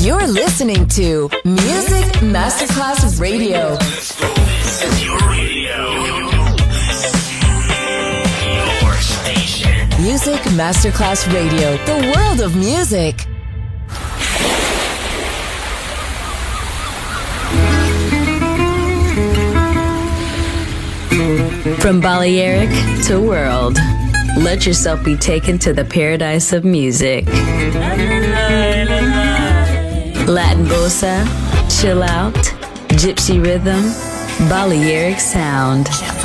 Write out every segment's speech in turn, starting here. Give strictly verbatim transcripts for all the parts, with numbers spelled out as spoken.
You're listening to Music Masterclass Radio. This is your radio. Your station. Music Masterclass Radio. The world of music. From Balearic to world, let yourself be taken to the paradise of music. Latin bossa, chill out, gypsy rhythm, Balearic sound,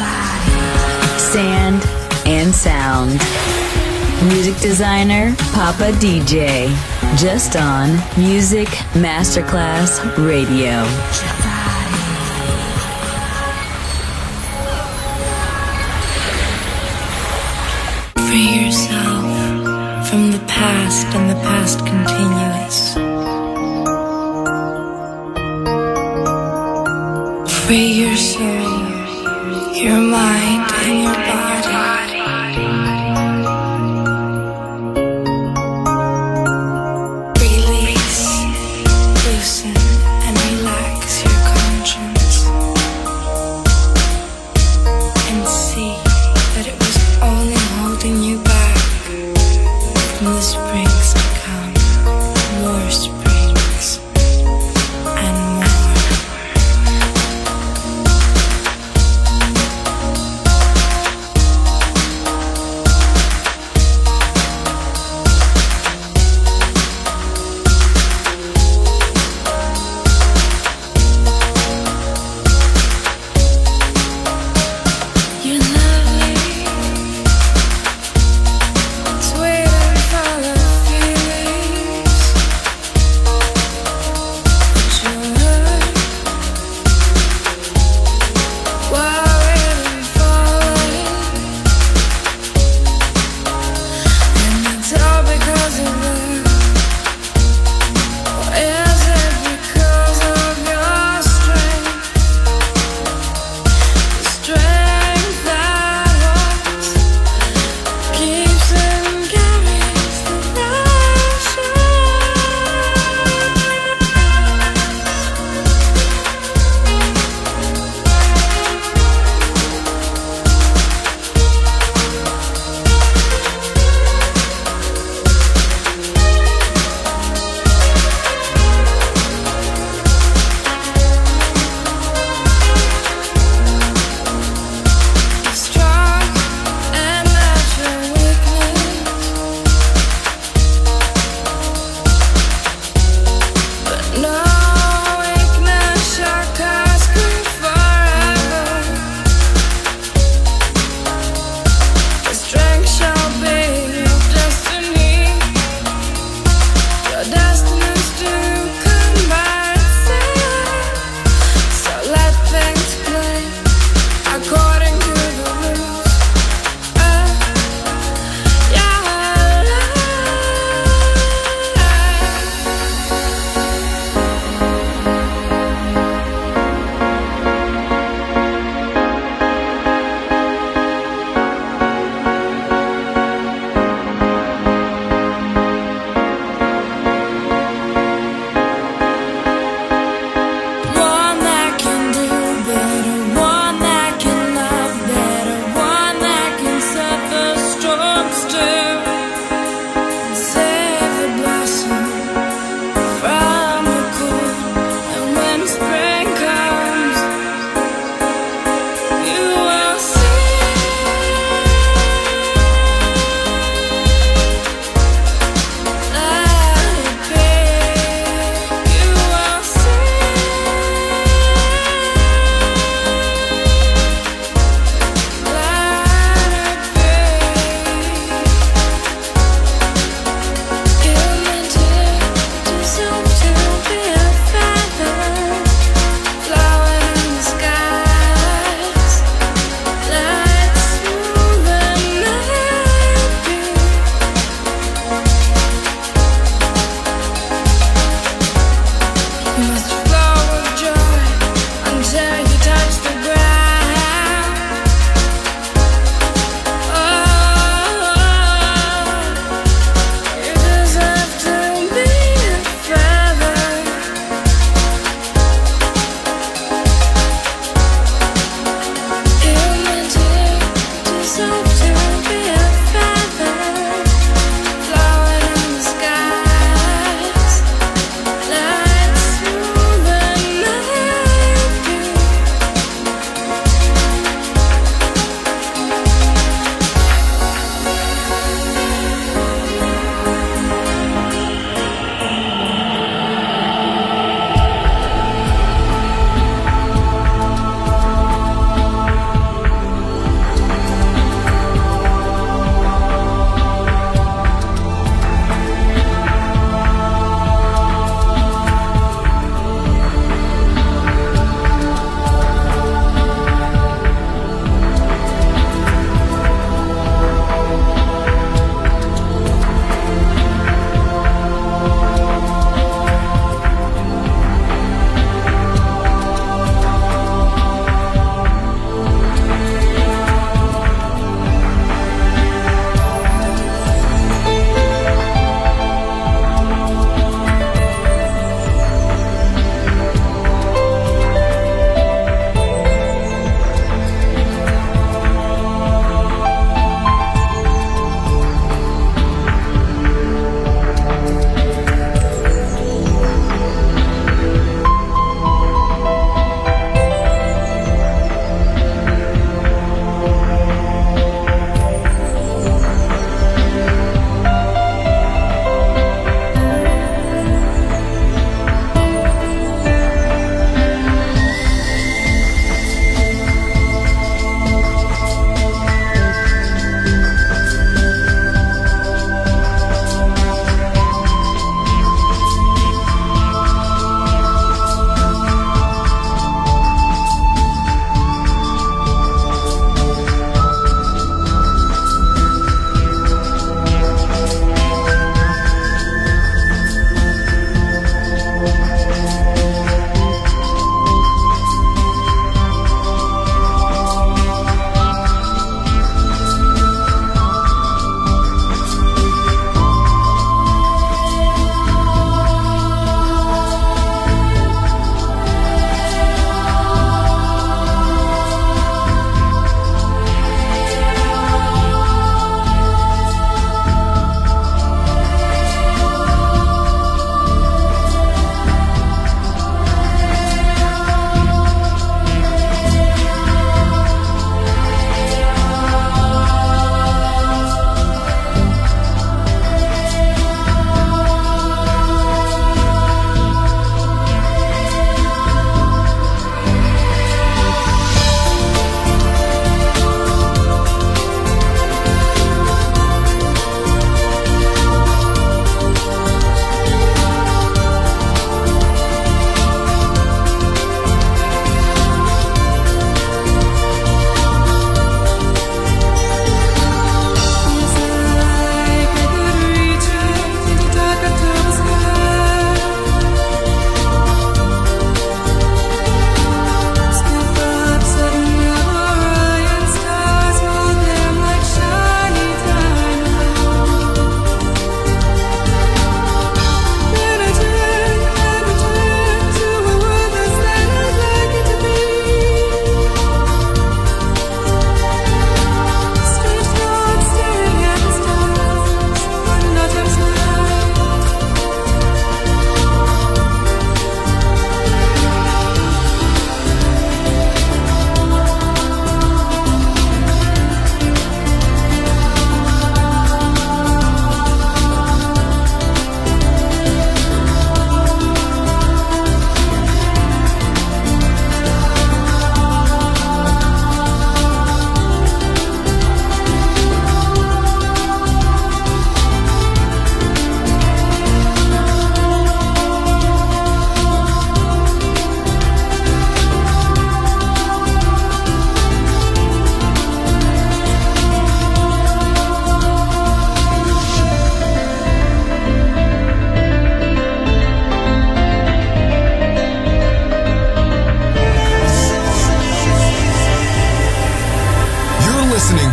sand and sound. Music designer, Papa D J, just on Music Masterclass Radio. Free yourself from the past and the past continuous. Free your soul, your mind, and your body. Release, loosen, and relax your conscience. And see that it was only holding you back from the springs to come, more springs and more.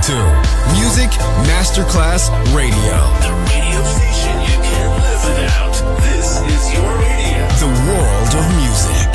to Music Masterclass Radio. The radio station you can't live without. This is your radio. The world of music.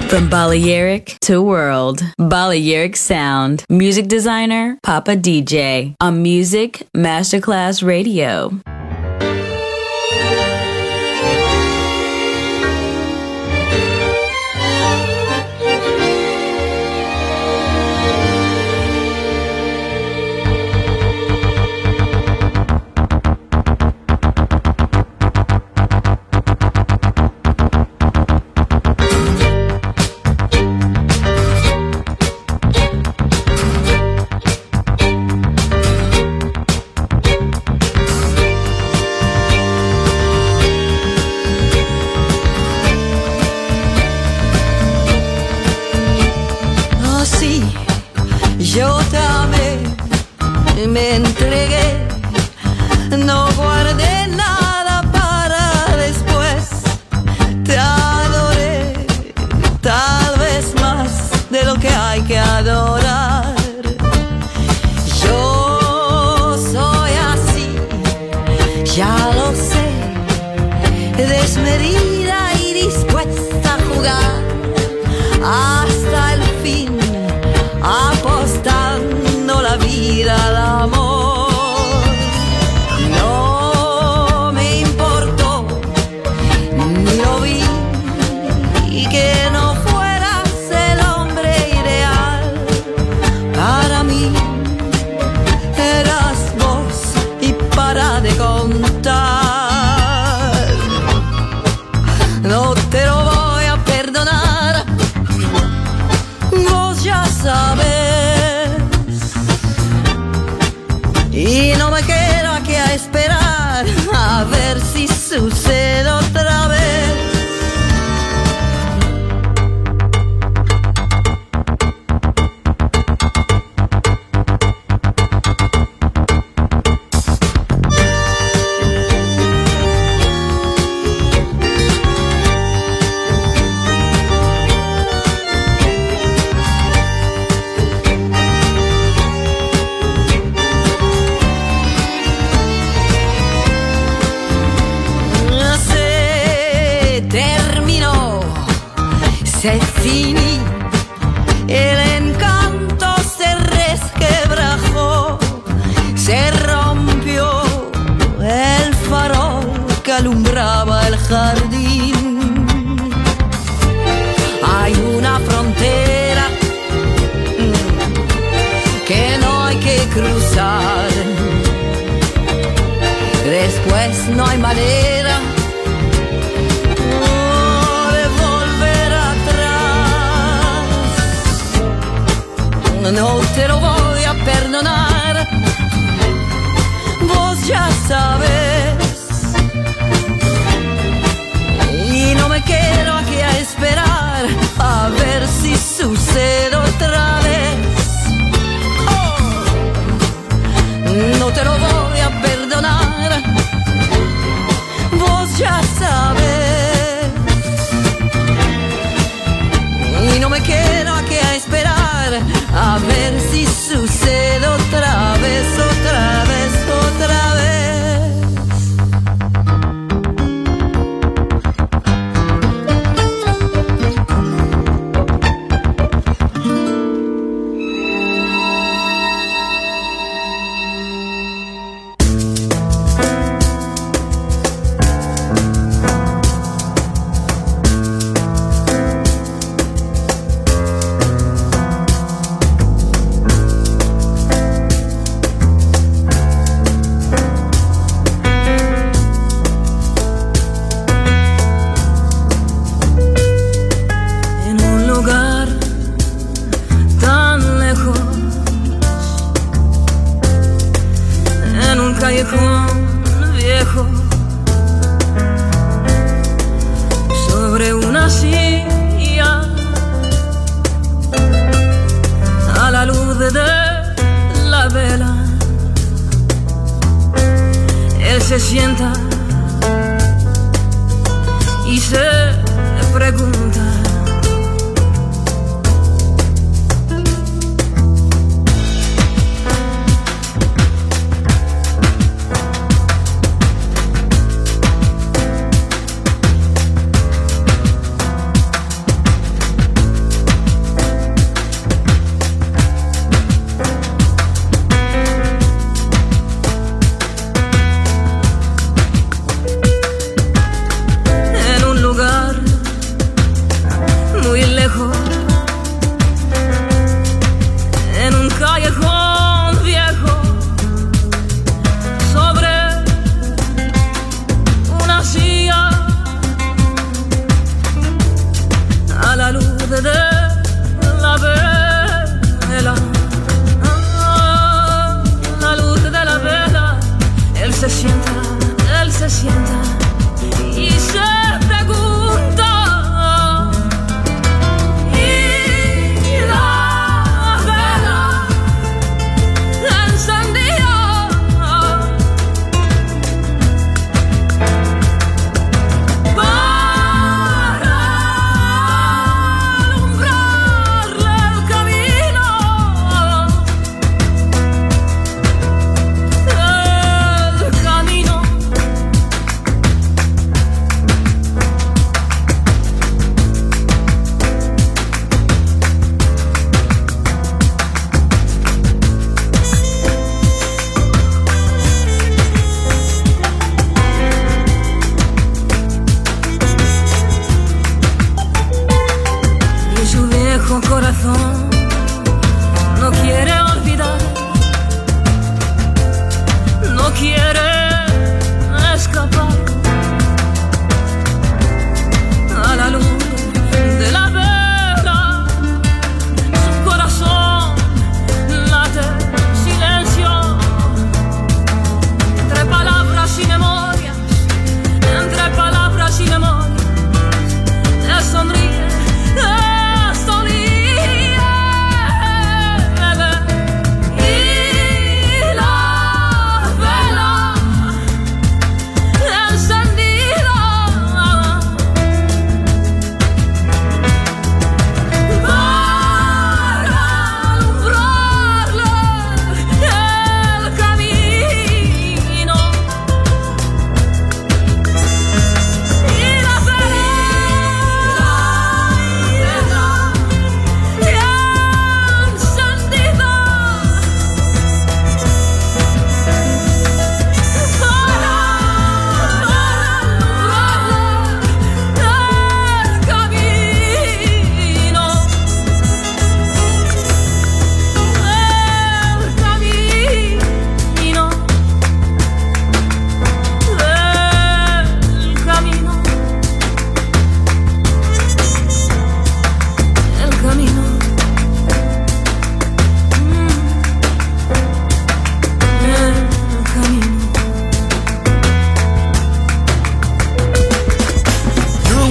From Balearic to world, Balearic Sound. Music designer, Papa D J. On Music Masterclass Radio. Yo te amé, me entregué, no guardé nada para después. Te adoré, tal vez más de lo que hay que adorar. Yo soy así, ya lo sé, desmedida y dispuesta a jugar hasta el fin, apostando la vida al amor. No me importó, ni lo vi, y que no fueras el hombre ideal para mí. Eras vos y para de contar. No te lo voy a perdonar, vos ya sabes. Y no me quedo aquí a esperar a ver si sucede otra vez. Se finí, el encanto se resquebrajó, se rompió el farol que alumbraba el jardín. Hay una frontera que no hay que cruzar, después no hay manera no te lo voy a perdonar, vos ya sabes. Y no me quedo aquí a esperar a ver si sucede otra vez. Oh, no te lo voy a perdonar, vos ya sabes. Y no me quedo aquí a esperar a ver si sucede otra vez, otra vez, otra vez. Se sienta y se pregunta: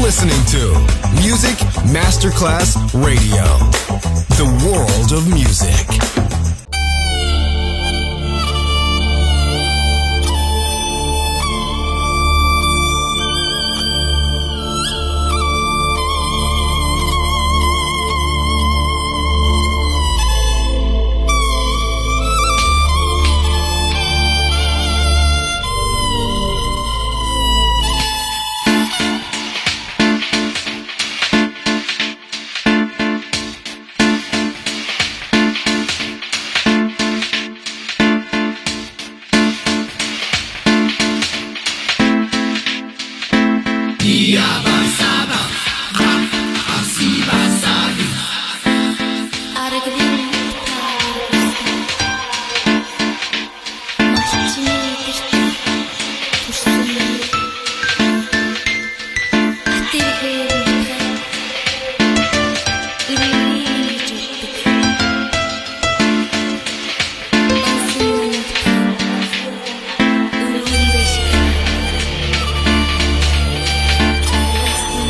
listening to Music Masterclass Radio, the world of music. Thank you.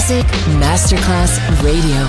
Music Masterclass Radio.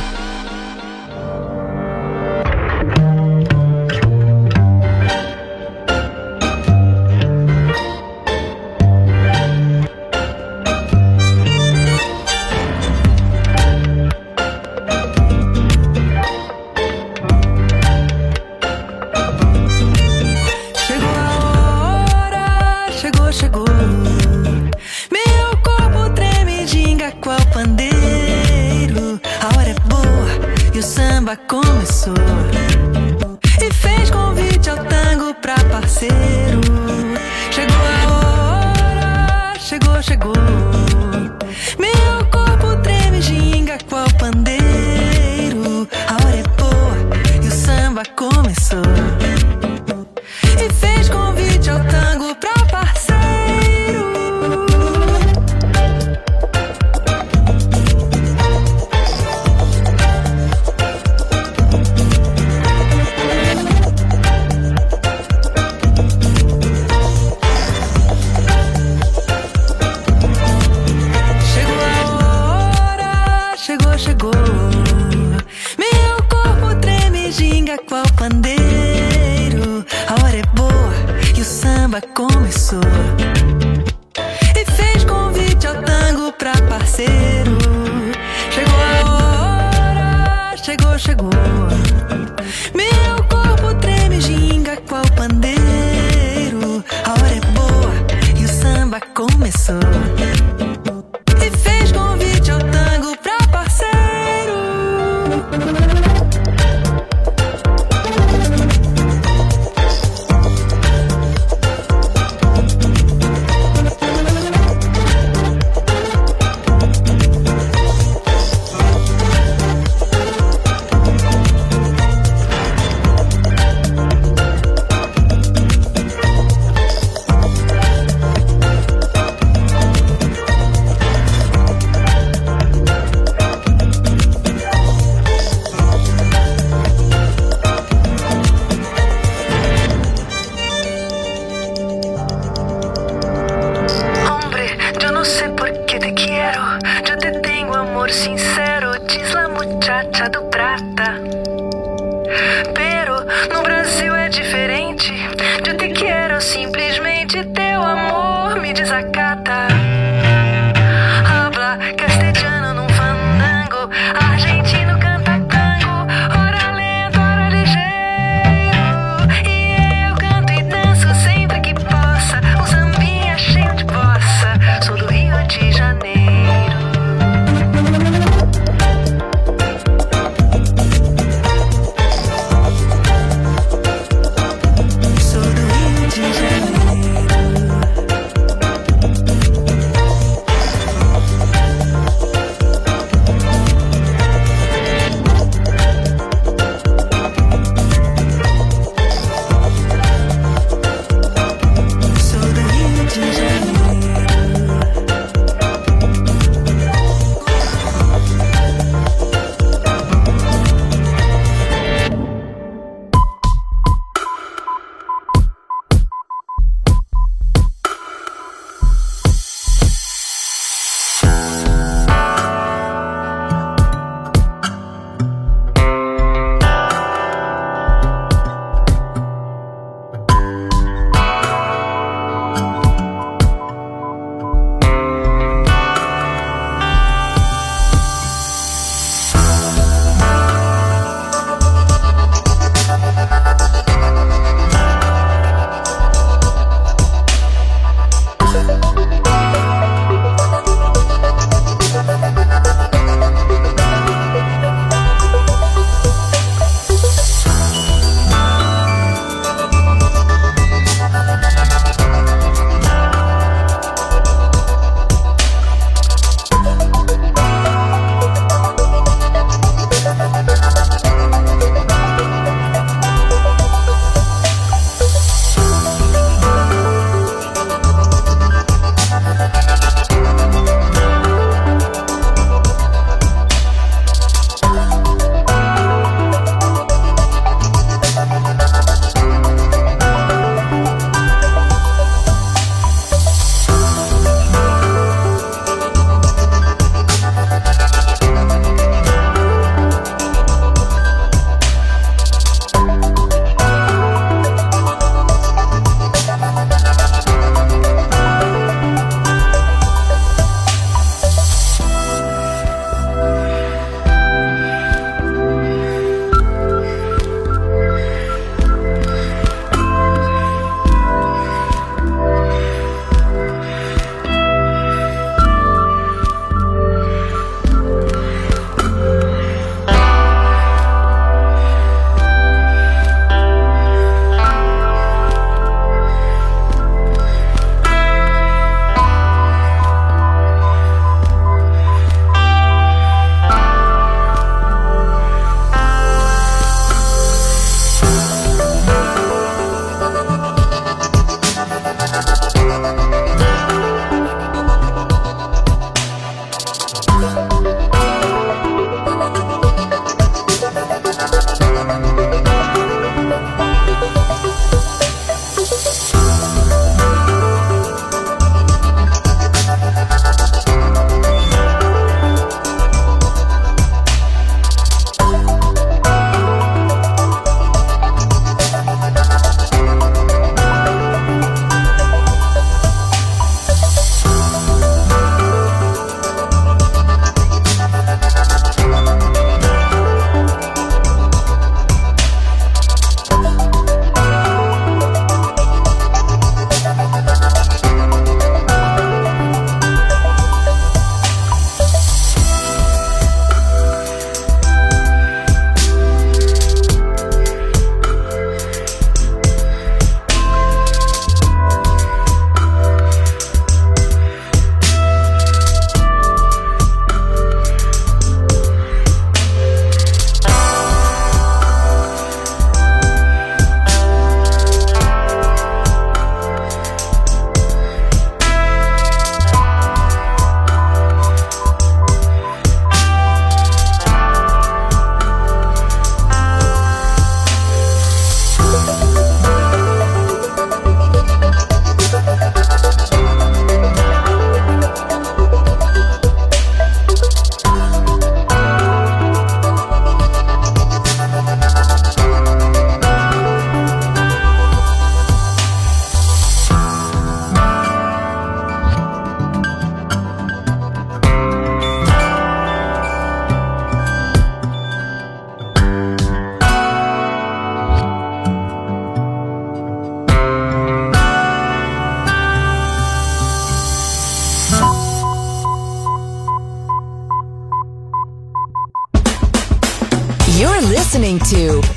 Começou e fez convite ao tango pra parceiro. Chegou a hora, chegou, chegou. Meu corpo treme, ginga qual pandeiro. A hora é boa e o samba começou e fez convite ao tango pra parceiro. Chegou, meu corpo treme, ginga qual pandeiro. A hora é boa e o samba começou e fez convite ao tango pra parceiro. Chegou a hora, chegou, chegou. Meu corpo treme, ginga qual pandeiro. A hora é boa e o samba começou e fez convite ao tango pra parceiro.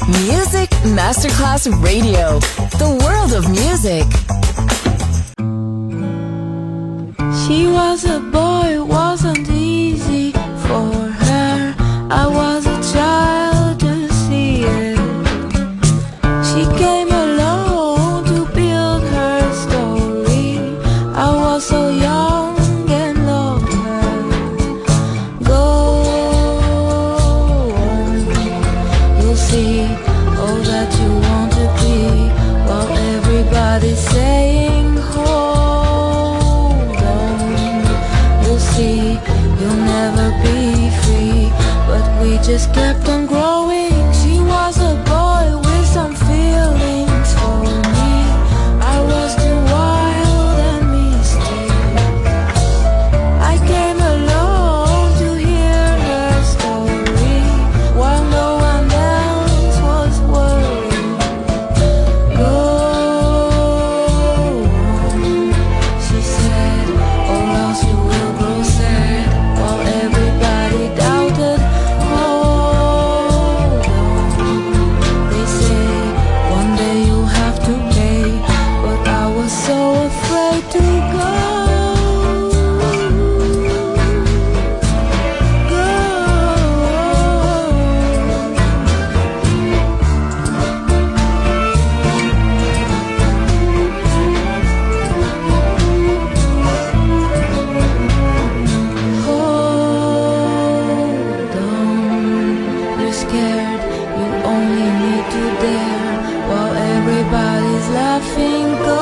Music Masterclass Radio. The world of music. She was a boy, it wasn't easy for her. I was a child to see it. She came alone to build her story. I was so young and loved her. Go on, you'll see all that you want to be, while everybody's saying hold on. You'll see you'll never be free, but we just kept on growing. She was a boy with some feelings for me. I was too wild and misty. I came alone to hear her story, while no one else was worried. Go on, she said, or else you will grow sad, while everybody doubted. Hold on, they say one day you'll have to pay, but I was so afraid to go. Hold on, you're scared, you only need to dare, while everybody's laughing. Go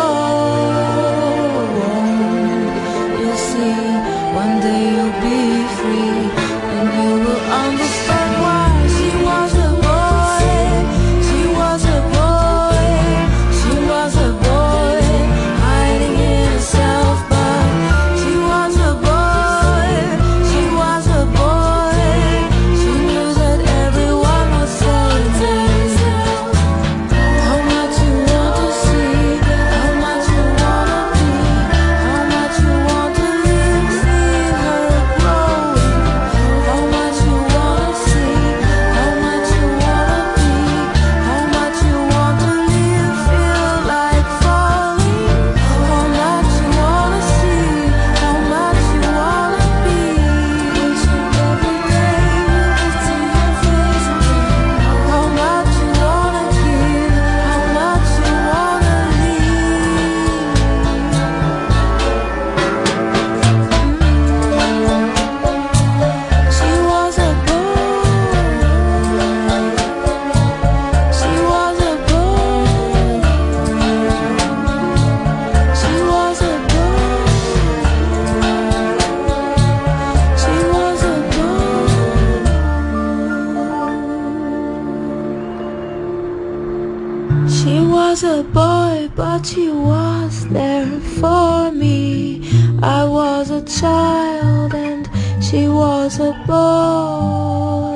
on, you'll see, one day you'll be free, and you will understand why. She was a boy, she was a boy, she was a boy, hiding in herself, but she was a boy, she was a boy, she knew that everyone was saying how much you want to see, how much you wanna be, how much you want to live, see her growing, how much you wanna see, how much you wanna be, how much you want to live, feel like falling, how much you wanna see, how much you wanna be, wishing every day you could see your face again, how much you wanna give, how much you wanna leave. She was a boy, she was a boy, she was a boy, she was a boy. She was a boy, but she was there for me. I was a child and she was a boy.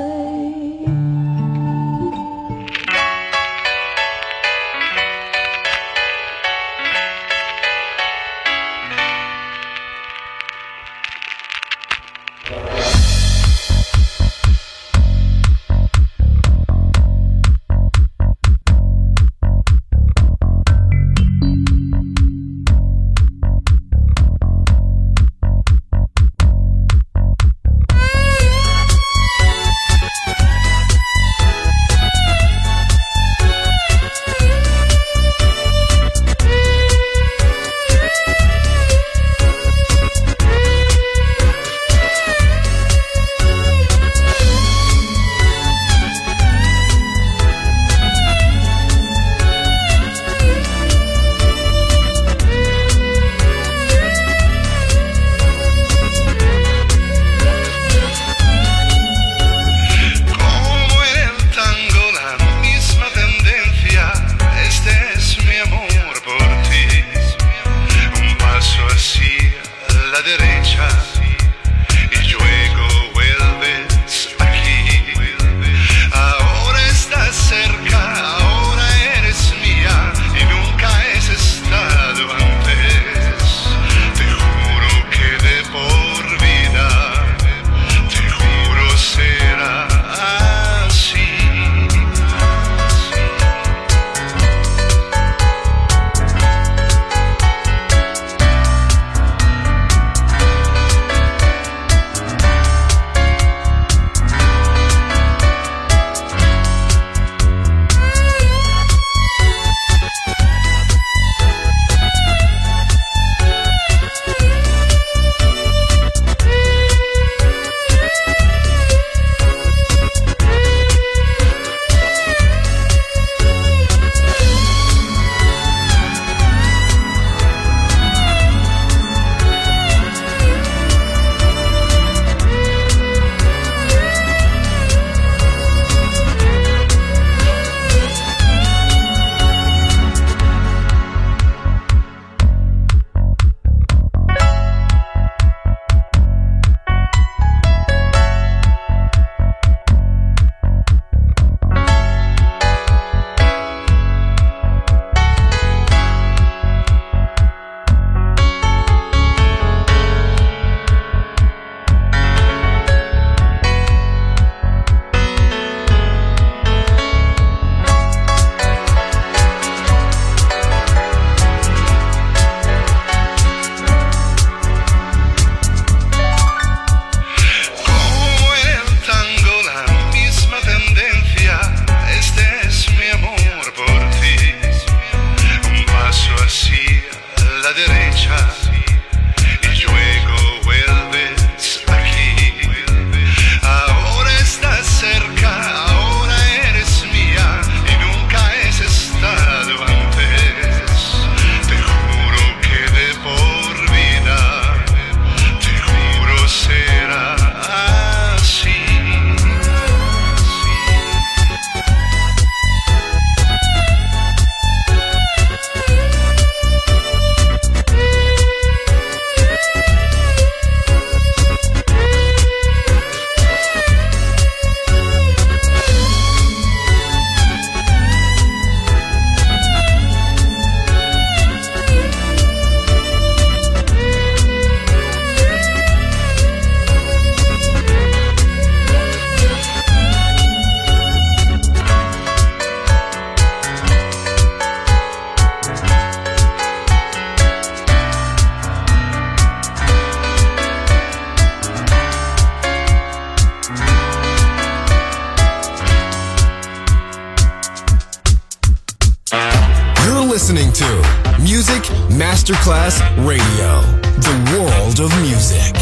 listening to Music Masterclass Radio, the world of music.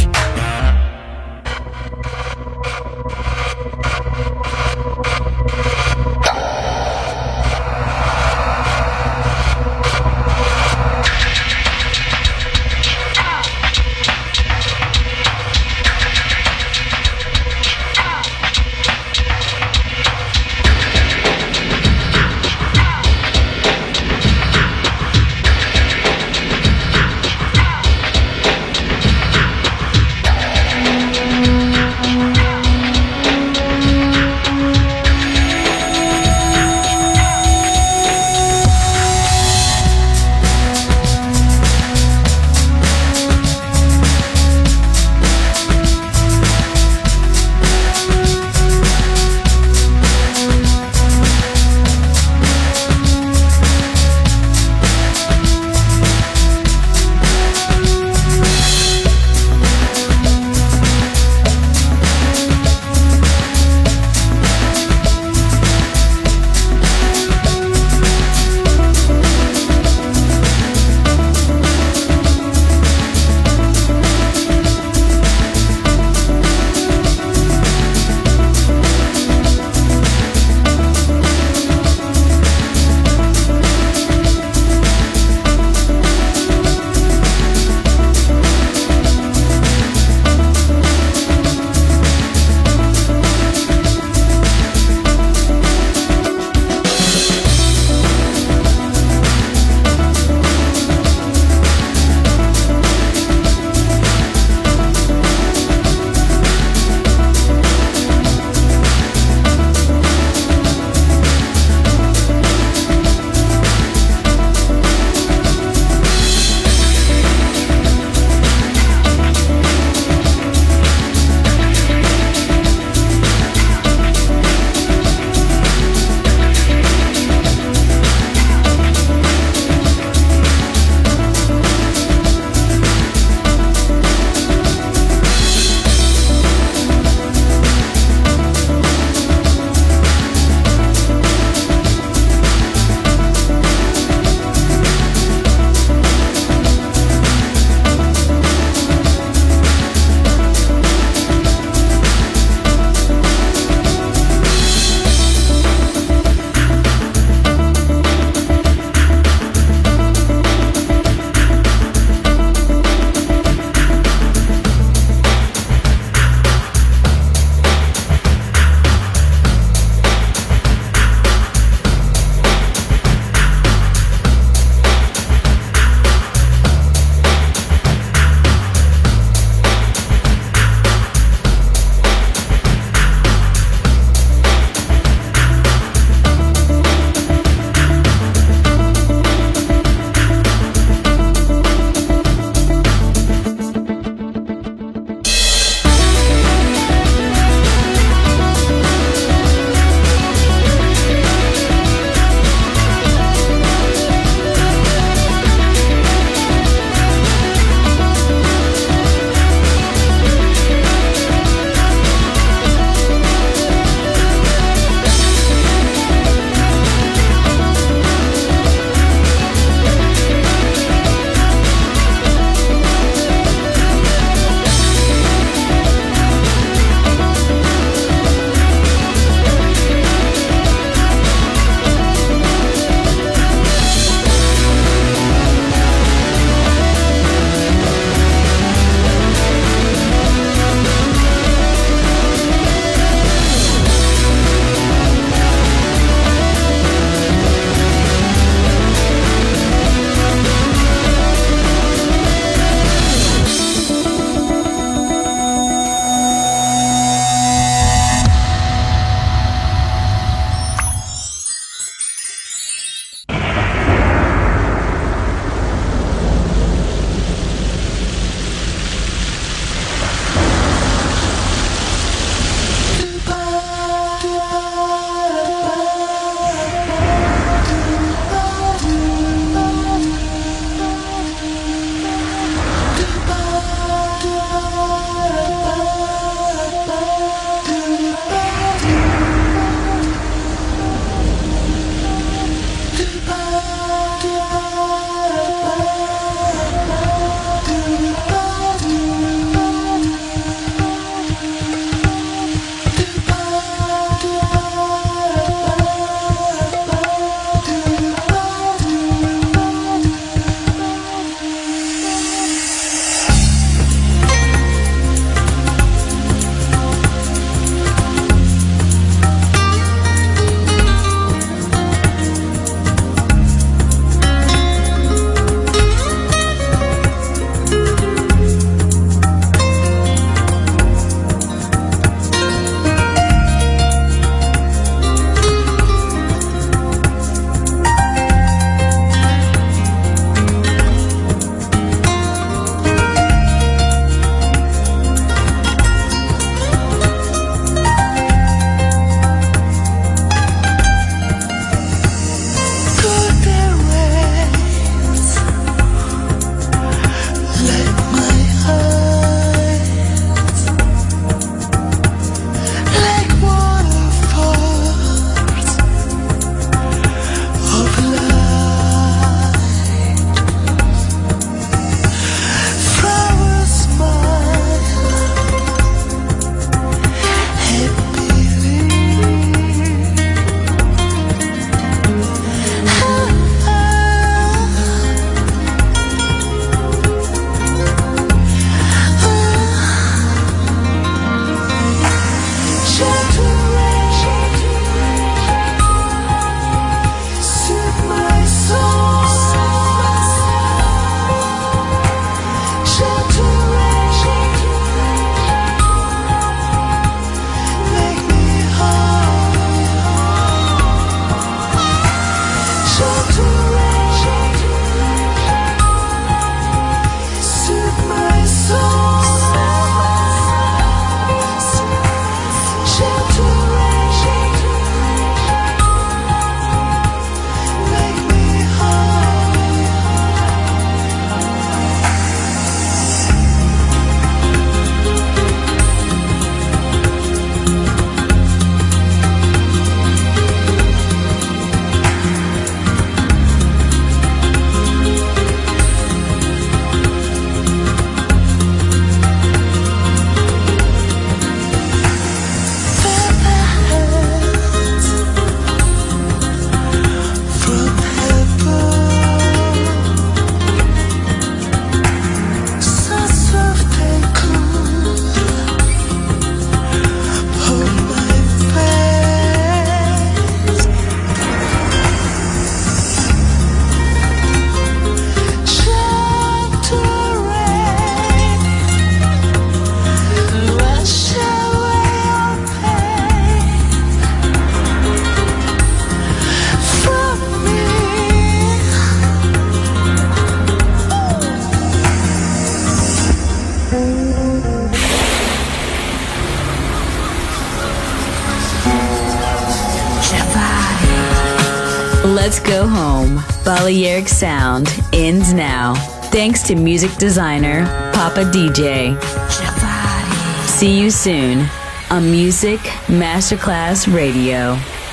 Let's go home. Balearic Sound ends now. Thanks to music designer Papa D J. See you soon on Music Masterclass Radio.